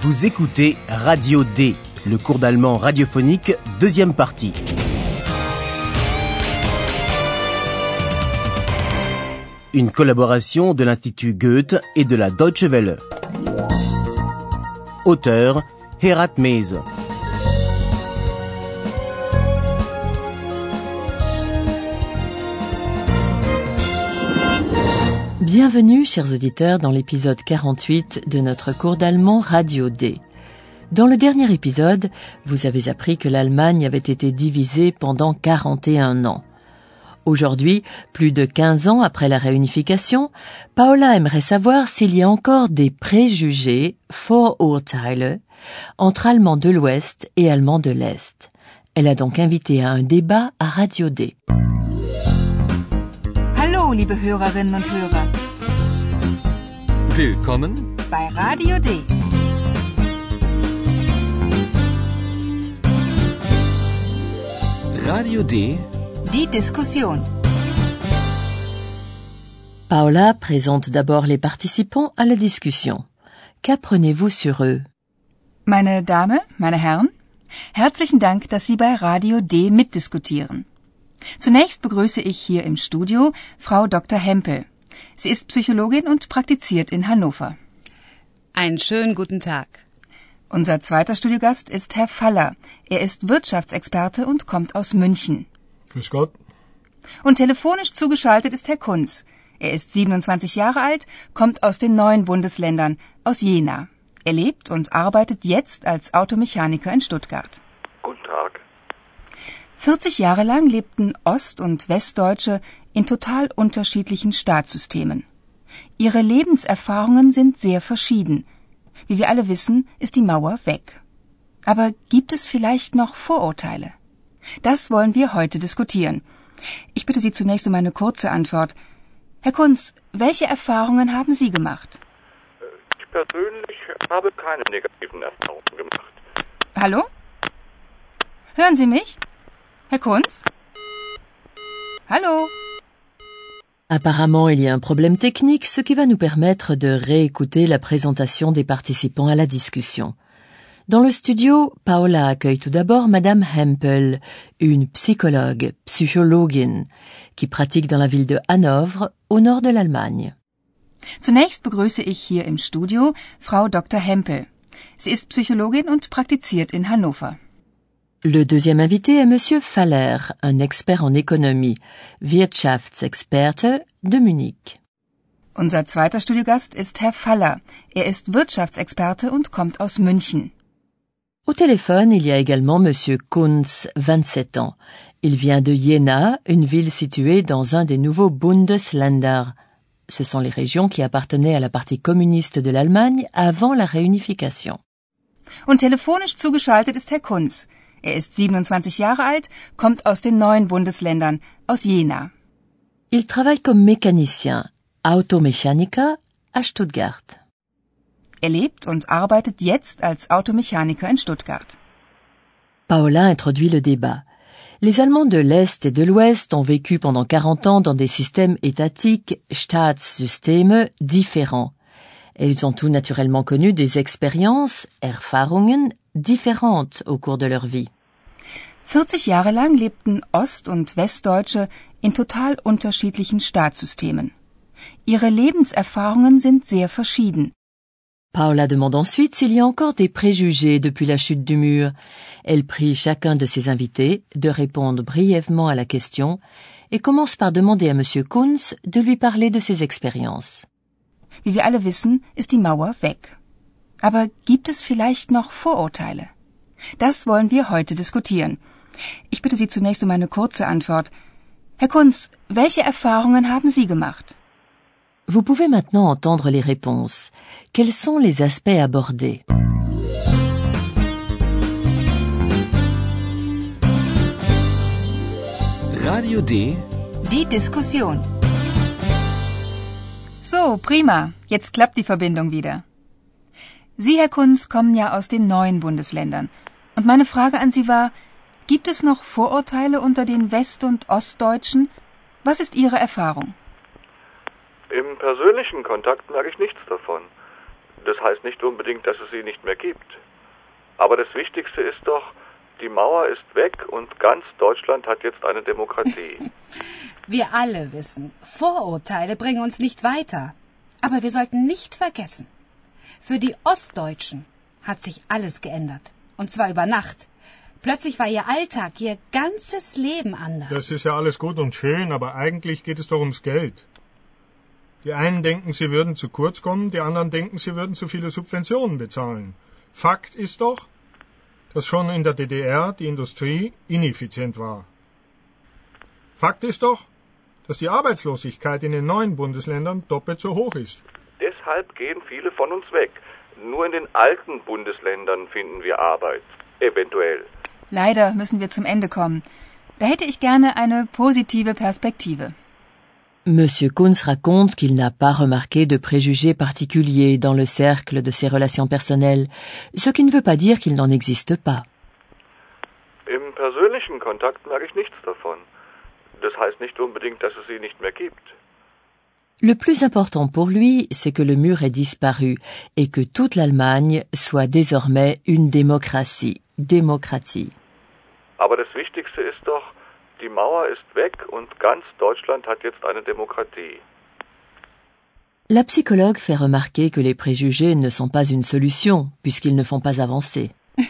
Vous écoutez Radio D, le cours d'allemand radiophonique, deuxième partie. Une collaboration de l'Institut Goethe et de la Deutsche Welle. Auteur, Herat Mese. Bienvenue, chers auditeurs, dans l'épisode 48 de notre cours d'allemand Radio D. Dans le dernier épisode, vous avez appris que l'Allemagne avait été divisée pendant 41 ans. Aujourd'hui, plus de 15 ans après la réunification, Paola aimerait savoir s'il y a encore des préjugés, Vorurteile, entre Allemands de l'Ouest et Allemands de l'Est. Elle a donc invité à un débat à Radio D. Hallo, liebe Hörerinnen und Hörer. Willkommen bei Radio D. Radio D. Die Diskussion. Paola présente d'abord les participants à la discussion. Qu'apprenez-vous sur eux? Meine Damen, meine Herren, herzlichen Dank, dass Sie bei Radio D mitdiskutieren. Zunächst begrüße ich hier im Studio Frau Dr. Hempel. Sie ist Psychologin und praktiziert in Hannover. Einen schönen guten Tag. Unser zweiter Studiogast ist Herr Faller. Er ist Wirtschaftsexperte und kommt aus München. Grüß Gott. Und telefonisch zugeschaltet ist Herr Kunz. Er ist 27 Jahre alt, kommt aus den neuen Bundesländern, aus Jena. Er lebt und arbeitet jetzt als Automechaniker in Stuttgart. Guten Tag. 40 Jahre lang lebten Ost- und Westdeutsche in total unterschiedlichen Staatssystemen. Ihre Lebenserfahrungen sind sehr verschieden. Wie wir alle wissen, ist die Mauer weg. Aber gibt es vielleicht noch Vorurteile? Das wollen wir heute diskutieren. Ich bitte Sie zunächst um eine kurze Antwort. Herr Kunz, welche Erfahrungen haben Sie gemacht? Ich persönlich habe keine negativen Erfahrungen gemacht. Hallo? Hören Sie mich? Herr Kunz? Hallo? Apparemment, il y a un problème technique, ce qui va nous permettre de réécouter la présentation des participants à la discussion. Dans le studio, Paola accueille tout d'abord Madame Hempel, une psychologue, Psychologin, qui pratique dans la ville de Hanovre, au nord de l'Allemagne. Zunächst begrüße ich hier im Studio Frau Dr. Hempel. Sie ist Psychologin und praktiziert in Hannover. Le deuxième invité est Monsieur Faller, un expert en économie, Wirtschaftsexperte de Munich. Unser zweiter Studiogast ist Herr Faller. Er ist Wirtschaftsexperte und kommt aus München. Au téléphone, il y a également Monsieur Kunz, 27 ans. Il vient de Jena, une ville située dans un des nouveaux Bundesländer. Ce sont les régions qui appartenaient à la partie communiste de l'Allemagne avant la réunification. Und telefonisch zugeschaltet ist Herr Kunz. Er ist 27 Jahre alt, kommt aus den neuen Bundesländern, aus Jena. Il travaille comme mécanicien, Automechaniker, à Stuttgart. Er lebt und arbeitet jetzt als Automechaniker in Stuttgart. Paola introduit le débat. Les Allemands de l'Est et de l'Ouest ont vécu pendant 40 ans dans des systèmes étatiques, Staatssysteme, différents. Ils ont tout naturellement connu des expériences, Erfahrungen, différentes au cours de leur vie. 40 Jahre lang lebten Ost- und Westdeutsche in total unterschiedlichen Staatssystemen. Ihre Lebenserfahrungen sind sehr verschieden. Paola demande ensuite s'il y a encore des préjugés depuis la chute du mur. Elle prie chacun de ses invités de répondre brièvement à la question et commence par demander à Monsieur Kunz de lui parler de ses expériences. Wie wir alle wissen, ist die Mauer weg. Aber gibt es vielleicht noch Vorurteile? Das wollen wir heute diskutieren. Ich bitte Sie zunächst um eine kurze Antwort. Herr Kunz, welche Erfahrungen haben Sie gemacht? Vous pouvez maintenant entendre les réponses. Quels sont les aspects abordés? Radio D. Die Diskussion. So, prima. Jetzt klappt die Verbindung wieder. Sie, Herr Kunz, kommen ja aus den neuen Bundesländern. Und meine Frage an Sie war, gibt es noch Vorurteile unter den West- und Ostdeutschen? Was ist Ihre Erfahrung? Im persönlichen Kontakt merke ich nichts davon. Das heißt nicht unbedingt, dass es sie nicht mehr gibt. Aber das Wichtigste ist doch, die Mauer ist weg und ganz Deutschland hat jetzt eine Demokratie. Wir alle wissen, Vorurteile bringen uns nicht weiter. Aber wir sollten nicht vergessen, für die Ostdeutschen hat sich alles geändert. Und zwar über Nacht. Plötzlich war ihr Alltag, ihr ganzes Leben anders. Das ist ja alles gut und schön, aber eigentlich geht es doch ums Geld. Die einen denken, sie würden zu kurz kommen, die anderen denken, sie würden zu viele Subventionen bezahlen. Fakt ist doch, dass schon in der DDR die Industrie ineffizient war. Fakt ist doch, dass die Arbeitslosigkeit in den neuen Bundesländern doppelt so hoch ist. Deshalb gehen viele von uns weg. Nur in den alten Bundesländern finden wir Arbeit. Eventuell. Leider müssen wir zum Ende kommen. Da hätte ich gerne eine positive Perspektive. Monsieur Kunz raconte qu'il n'a pas remarqué de préjugés particuliers dans le cercle de ses relations personnelles, ce qui ne veut pas dire qu'il n'en existe pas. Im persönlichen Kontakt merke ich nichts davon. Das heißt nicht unbedingt, dass es sie nicht mehr gibt. Le plus important pour lui, c'est que le mur ait disparu et que toute l'Allemagne soit désormais une démocratie. Démocratie. Aber das Wichtigste ist doch, die Mauer ist weg und ganz Deutschland hat jetzt eine Demokratie. La psychologue fait remarquer que les préjugés ne sont pas une solution, puisqu'ils ne font pas avancer.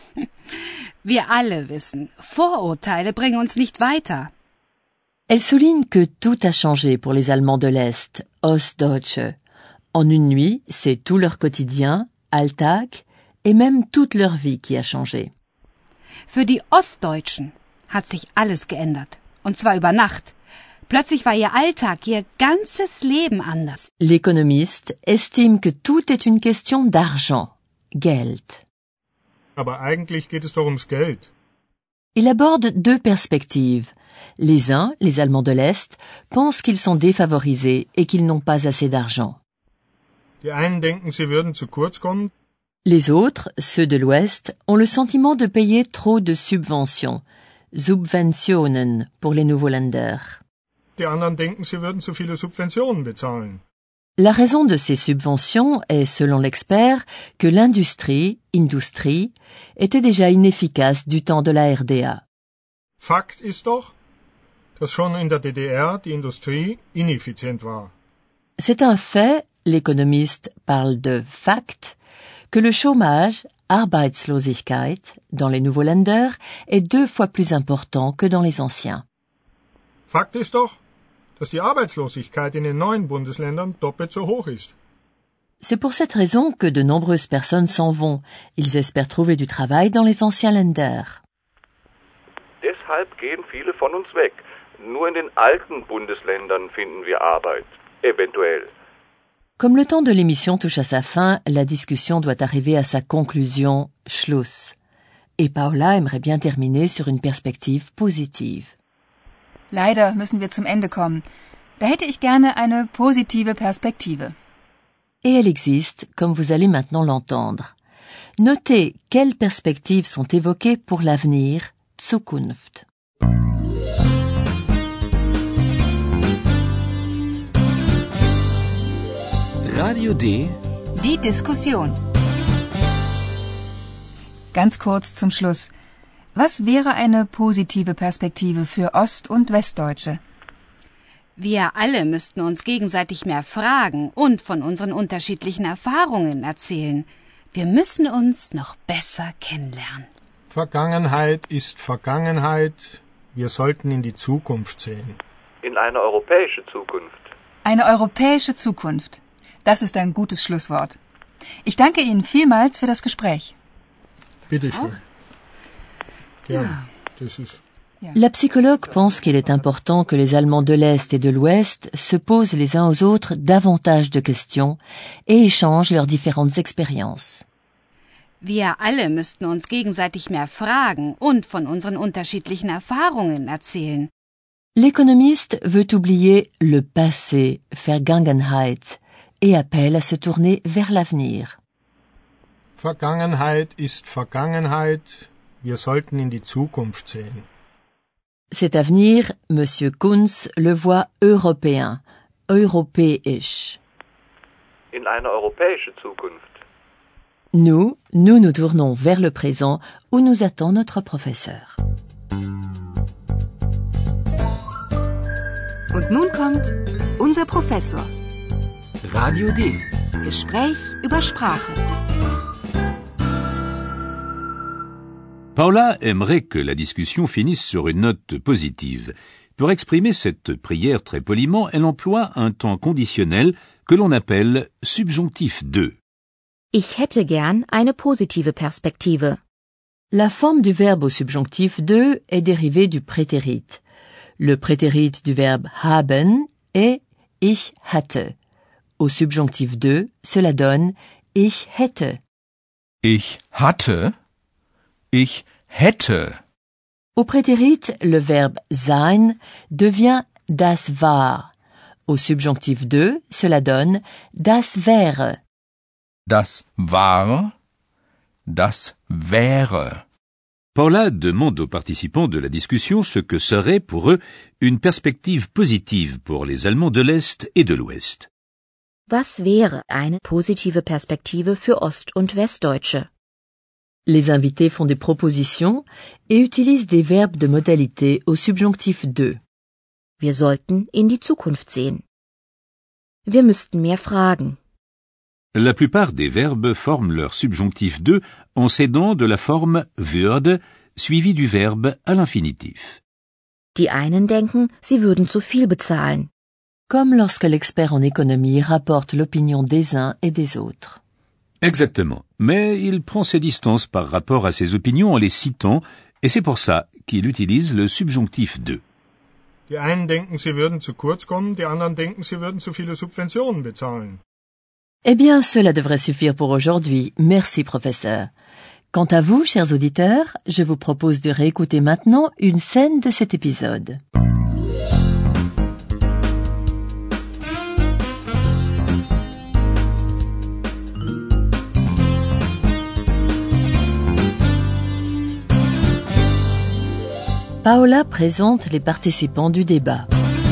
Wir alle wissen, Vorurteile bringen uns nicht weiter. Elle souligne que tout a changé pour les Allemands de l'Est, Ostdeutsche. En une nuit, c'est tout leur quotidien, Alltag, et même toute leur vie qui a changé. Für die Ostdeutschen hat sich alles geändert. Und zwar über Nacht. Plötzlich war ihr Alltag, ihr ganzes Leben anders. L'économiste estime que tout est une question d'argent, Geld. Aber eigentlich geht es doch ums Geld. Il aborde deux perspectives. Les uns, les Allemands de l'Est, pensent qu'ils sont défavorisés et qu'ils n'ont pas assez d'argent. Die einen denken, sie würden zu kurz kommen, Les autres, ceux de l'Ouest, ont le sentiment de payer trop de subventions, Subventionen pour les nouveaux Länder. die anderen denken, sie würden zu viele Subventionen bezahlen. La raison de ces subventions est, selon l'expert, que l'industrie, était déjà inefficace du temps de la RDA. Fakt ist doch, dass schon in der DDR die Industrie ineffizient war. C'est un fait, l'économiste parle de fact, que le chômage, Arbeitslosigkeit, dans les nouveaux Länder est 2 fois plus important que dans les anciens. Fakt ist doch, dass die Arbeitslosigkeit in den neuen Bundesländern doppelt so hoch ist. C'est pour cette raison que de nombreuses personnes s'en vont. Ils espèrent trouver du travail dans les anciens Länder. Deshalb gehen viele von uns weg. Nur in den alten Bundesländern finden wir Arbeit. Eventuell. Comme le temps de l'émission touche à sa fin, la discussion doit arriver à sa conclusion, Schluss. Et Paola aimerait bien terminer sur une perspective positive. Leider müssen wir zum Ende kommen. Da hätte ich gerne eine positive Perspektive. Et elle existe, comme vous allez maintenant l'entendre. Notez quelles perspectives sont évoquées pour l'avenir, Zukunft. Radio D. Die Diskussion. Ganz kurz zum Schluss. Was wäre eine positive Perspektive für Ost- und Westdeutsche? Wir alle müssten uns gegenseitig mehr fragen und von unseren unterschiedlichen Erfahrungen erzählen. Wir müssen uns noch besser kennenlernen. Vergangenheit ist Vergangenheit. Wir sollten in die Zukunft sehen. In eine europäische Zukunft. Eine europäische Zukunft. Das ist ein gutes Schlusswort. Ich danke Ihnen vielmals für das Gespräch. Bitte schön. Gerne. Das ist... La psychologue pense qu'il est important que les Allemands de l'Est et de l'Ouest se posent les uns aux autres davantage de questions et échangent leurs différentes expériences. Wir alle müssten uns gegenseitig mehr fragen und von unseren unterschiedlichen Erfahrungen erzählen. L'économiste veut oublier le passé, Vergangenheit, et appelle à se tourner vers l'avenir. Vergangenheit ist Vergangenheit. Wir sollten in die Zukunft sehen. Cet avenir, Monsieur Kunz le voit européen, europäisch. In eine europäische Zukunft. Nous nous tournons vers le présent où nous attend notre professeur. Und nun kommt unser Professor. Radio D. Gespräch über Sprache. Paula aimerait que la discussion finisse sur une note positive. Pour exprimer cette prière très poliment, elle emploie un temps conditionnel que l'on appelle subjonctif 2. Ich hätte gern eine positive Perspektive. La forme du verbe au subjonctif 2 est dérivée du prétérit. Le prétérit du verbe haben est ich hatte. Au subjonctif 2, cela donne ich hätte. Ich hatte. Ich hätte. Au prétérit, le verbe sein devient das war. Au subjonctif 2, cela donne das wäre. Das war. Das wäre. Paula demande aux participants de la discussion ce que serait pour eux une perspective positive pour les Allemands de l'Est et de l'Ouest. Was wäre eine positive Perspektive für Ost- und Westdeutsche? Les invités font des propositions et utilisent des verbes de modalité au subjonctif 2. Wir sollten in die Zukunft sehen. Wir müssten mehr fragen. La plupart des verbes forment leur subjonctif 2 en s'aidant de la forme würde suivie du verbe à l'infinitif. Die einen denken, sie würden zu viel bezahlen. Comme lorsque l'expert en économie rapporte l'opinion des uns et des autres. Exactement. Mais il prend ses distances par rapport à ses opinions en les citant, et c'est pour ça qu'il utilise le subjonctif 2. Die einen denken, sie würden zu kurz kommen, die anderen denken, sie würden zu viele Subventionen bezahlen. Eh bien, cela devrait suffire pour aujourd'hui. Merci, professeur. Quant à vous, chers auditeurs, je vous propose de réécouter maintenant une scène de cet épisode. Paola présente les participants du débat.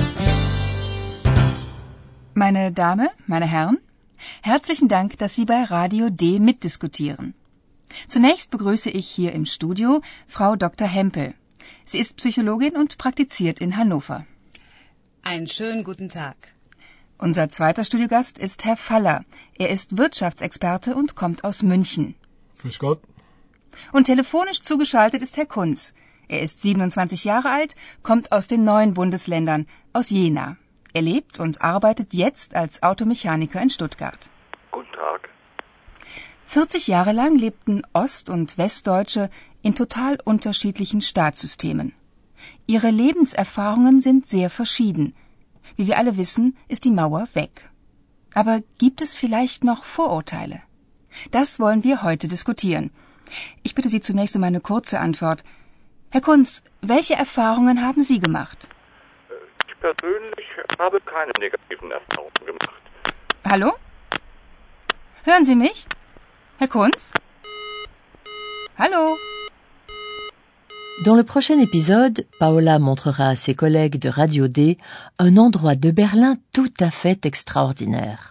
Meine Damen, meine Herren, herzlichen Dank, dass Sie bei Radio D mitdiskutieren. Zunächst begrüße ich hier im Studio Frau Dr. Hempel. Sie ist Psychologin und praktiziert in Hannover. Einen schönen guten Tag. Unser zweiter Studiogast ist Herr Faller. Er ist Wirtschaftsexperte und kommt aus München. Grüß Gott. Und telefonisch zugeschaltet ist Herr Kunz. Er ist 27 Jahre alt, kommt aus den 9 Bundesländern, aus Jena. Er lebt und arbeitet jetzt als Automechaniker in Stuttgart. Guten Tag. 40 Jahre lang lebten Ost- und Westdeutsche in total unterschiedlichen Staatssystemen. Ihre Lebenserfahrungen sind sehr verschieden. Wie wir alle wissen, ist die Mauer weg. Aber gibt es vielleicht noch Vorurteile? Das wollen wir heute diskutieren. Ich bitte Sie zunächst um eine kurze Antwort. Herr Kunz, welche Erfahrungen haben Sie gemacht? Ich persönlich habe keine negativen Erfahrungen gemacht. Hallo? Hören Sie mich? Herr Kunz? Hallo? Dans le prochain épisode, Paola montrera à ses collègues de Radio D un endroit de Berlin tout à fait extraordinaire.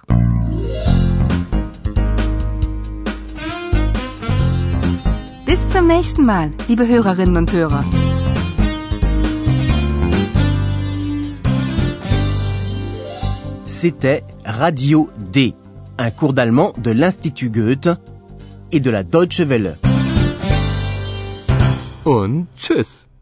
Bis zum nächsten Mal, liebe Hörerinnen und Hörer. C'était Radio D, un cours d'allemand de l'Institut Goethe et de la Deutsche Welle. Und tschüss.